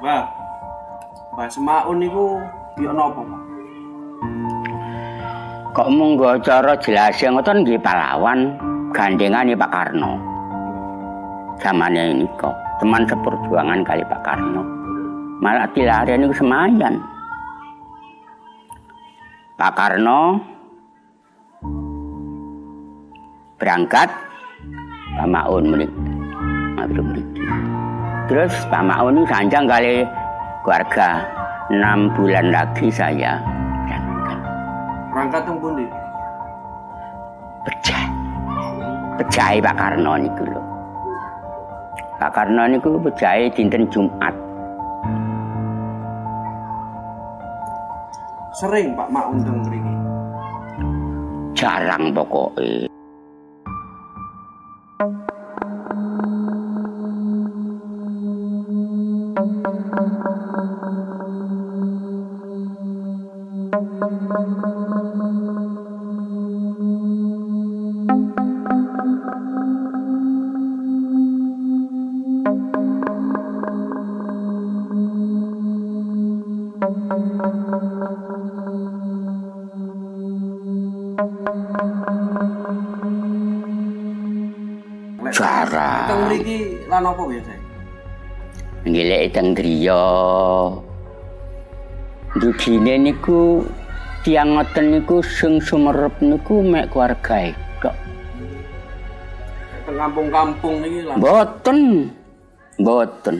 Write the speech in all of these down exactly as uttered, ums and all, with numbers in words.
Mbah. Mbah Semaun niku yo napa, Pak? Kok monggo cara jelase ngoten nggih pahlawan gandengane Pak Karno. Zamane nika teman seperjuangan kali Pak Karno. Malah dilare niku semayan. Pak Karno berangkat Pak Maun mriki. mriki. Terus Pak Maun niku sanjang kali keluarga. enam bulan lagi saya berangkat. Berangkat teng pundi? Pecah. Pejahe Pak Karno niku lho. Pak Karno niku pejahe dinten Jumat. Sering Pak Maun teng mriki. Jarang pokoke. Jarang. Teng mriki lan apa biasa? Nggileki teng griya. Dugine niku tiyang ngoten niku sing sumerep niku mek keluargae tok. Teng kampung-kampung niki lan. Mboten. Mboten.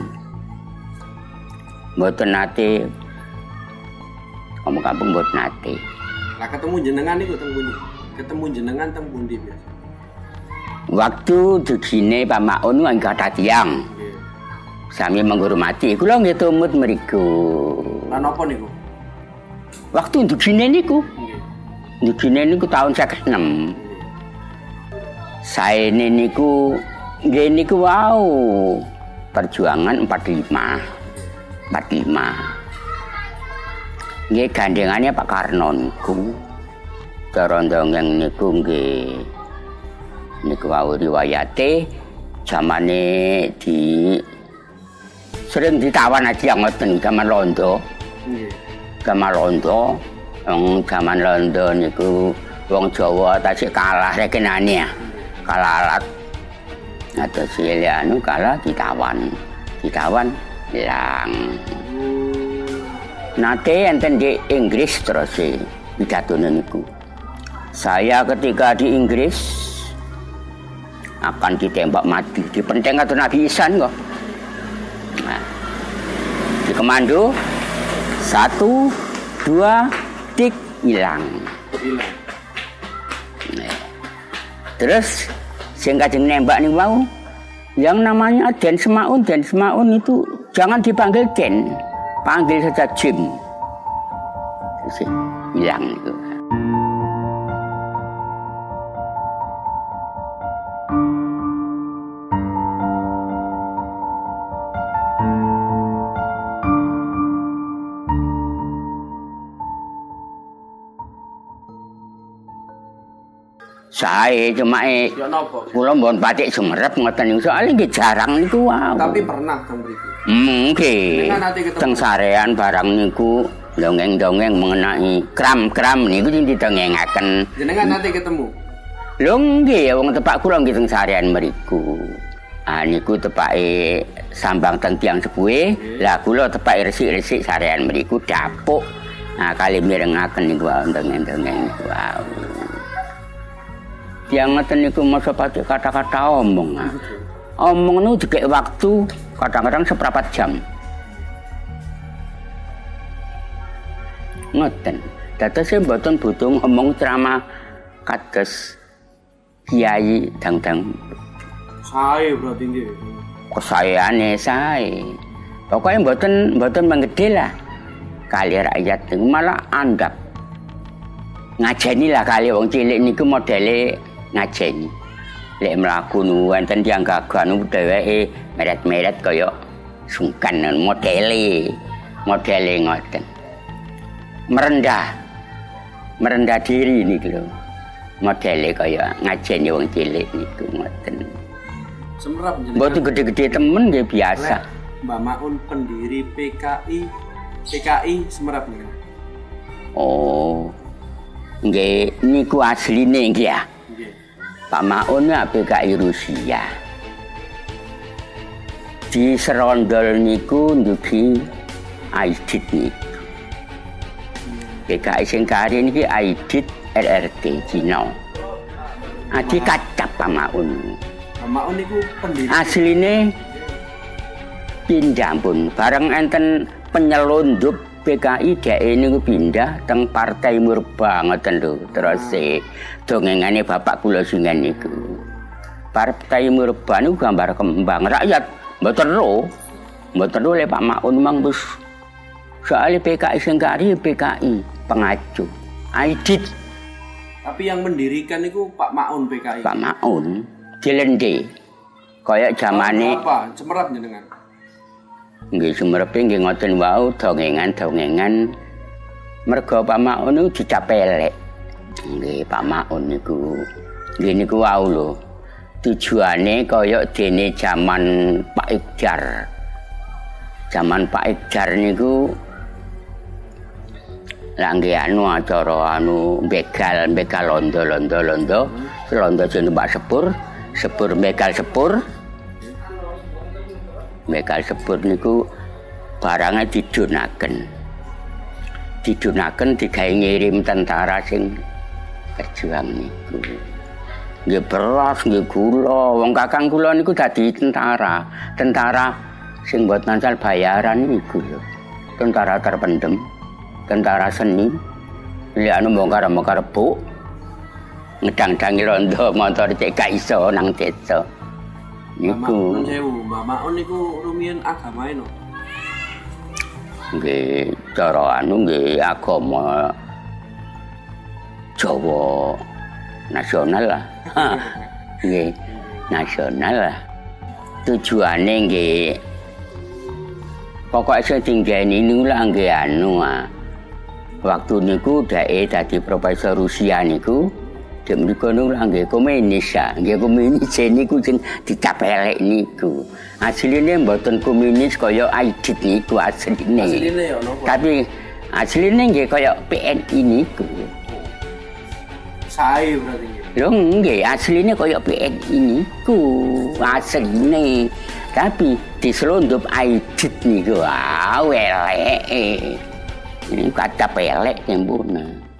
Mboten nate. Kampung-kampung mboten nate. Lah ketemu jenengan niku teng pundi? Ketemu jenengan teng pundi biasa? Waktu dugine Pak Maun niku kathah tiyang. Nggih. Sami menghormati. Kula nggih tumut mriku. Lan napa niku? Waktu dugine niku. Nggih. Dugine niku tahun seket enem. Saene niku nggih niku wau perjuangan empat puluh lima. empat puluh lima. Nggih gandengane Pak Karno niku. Cara ndongeng niku nggih niku wau riwayate zamane di sering ditawan aja ngoten zaman Londo. Nggih. Zaman Londo, wong zaman Londo niku wong Jawa tasik kalah rekenane. Kalah alat. Atus anu kalah ditawan. Ditawan ilang. Nate enten di Inggris terus e pidatone niku. Saya ketika di Inggris akan ditembak mati. Dipenteng karo Nabi Ihsan kok. Nah, di komando satu, dua, tik hilang. Hilang. Nah, terus sing kajeng nembak nih mau, yang namanya Den Semaun, Den Semaun itu jangan dipanggil Den, panggil saja Jim. Terus hilang itu. Saya cuma eh, Ya napa? kula mbon batik sumerep ngoten niku soalnya nggih jarang niku wae. Tapi pernah teng mriki. Nggih. Dengan nanti ketemu. Teng sarean barang niku dongeng-dongeng mengenai kram-kram niku sing didongengaken. Jenengan nanti ketemu. Lho nggih wong tepak kula nggih teng sarean mriku. Ah niku tepake sambang teng tiyang sepuhe. Lah kula tepake resik-resik sarean mriku dapuk. Nah kali mirengaken niku dongeng-dongeng niku. Yang ngeten niku masa pakai kata-kata omong. Omong niku dikek waktu kadang-kadang seperempat jam. Ngoten. Dados e mboten butuh ngomong ceramah kados kiai dang-dang. Sae berarti nggih. Kesaeane sae. Pokoke mboten mboten menggede lah. Kali rakyat niku malah andap. Ngajeni lah kali wong cilik niku modele ngajeni. Lek mlaku nu wonten tiyang gagah nu dheweke meret-meret kaya sungkan modele. Modele ngoten. Merendah. Merendah diri niku lho. Modele kaya ngajeni wong cilik niku ngoten. Semerap jenengan. Mboten gede-gede temen nggih biasa. Mbah Maun pendiri P K I P K I Semerap nih. Oh. Nggih, niku asline nggih ya. Nggih. Pak Maun ya P K I Rusia. Di serondol niku ndugi Aidit niku. P K I sing kari niki Aidit R R T Cina. Adi kacap Pak Maun. Pak Maun niku pendiri asline pindah pun bareng enten penyelundup P K I dhek niku pindah teng Partai Murba ngoten lho. Terus e dongengane bapak kula singen niku. Partai Murba niku gambar kembang rakyat mboten ro. Mboten ro le Pak Maun mang wis soal P K I sing kari P K I pengacu. Aidit. Tapi yang mendirikan niku Pak Maun P K I. Pak Maun dilende. Kayak zamane apa? Semerap jenengan. Nggih Semerepe nggih ngoten wau dongengan-dongengan merga Pak Maun niku dicapelek. Nggih Pak Maun niku nggih niku wau lho. Tujuane kaya dene zaman Pak Ikjar. Zaman Pak Ikjar niku lah nggih anu acara anu begal begal londo londo londo londo jeneng Mbak Sepur sepur begal sepur begal sepur niku barangnya didunaken didunaken digawe ngirim tentara sing berjuang niku nggih beras nggih gula wong kakang kula niku dadi tentara tentara sing mboten asal bayaran niku lho tentara terpendem tentara seni liane bongkar-bongkar bu ngedang-dangi rondo motor cek gak iso nang desa niku Mbah Maun niku rumiyin agamae no nggih cara anu nggih agama Jawa nasional lah nggih nasional lah tujuane nggih pokok sing tinggani niku lah nggih anu ah waktu niku dhek dadi profesor Rusia niku dhek mriku niku nggih komunis ya nggih komunis niku sing dicapelek niku asline mboten komunis kaya Aidit niku asline asline ya napa tapi asline nggih kaya P N I niku sae berarti lho nggih asline kaya P N I niku asline tapi diselundup Aidit niku ah elek ini kata pelek yang bunga.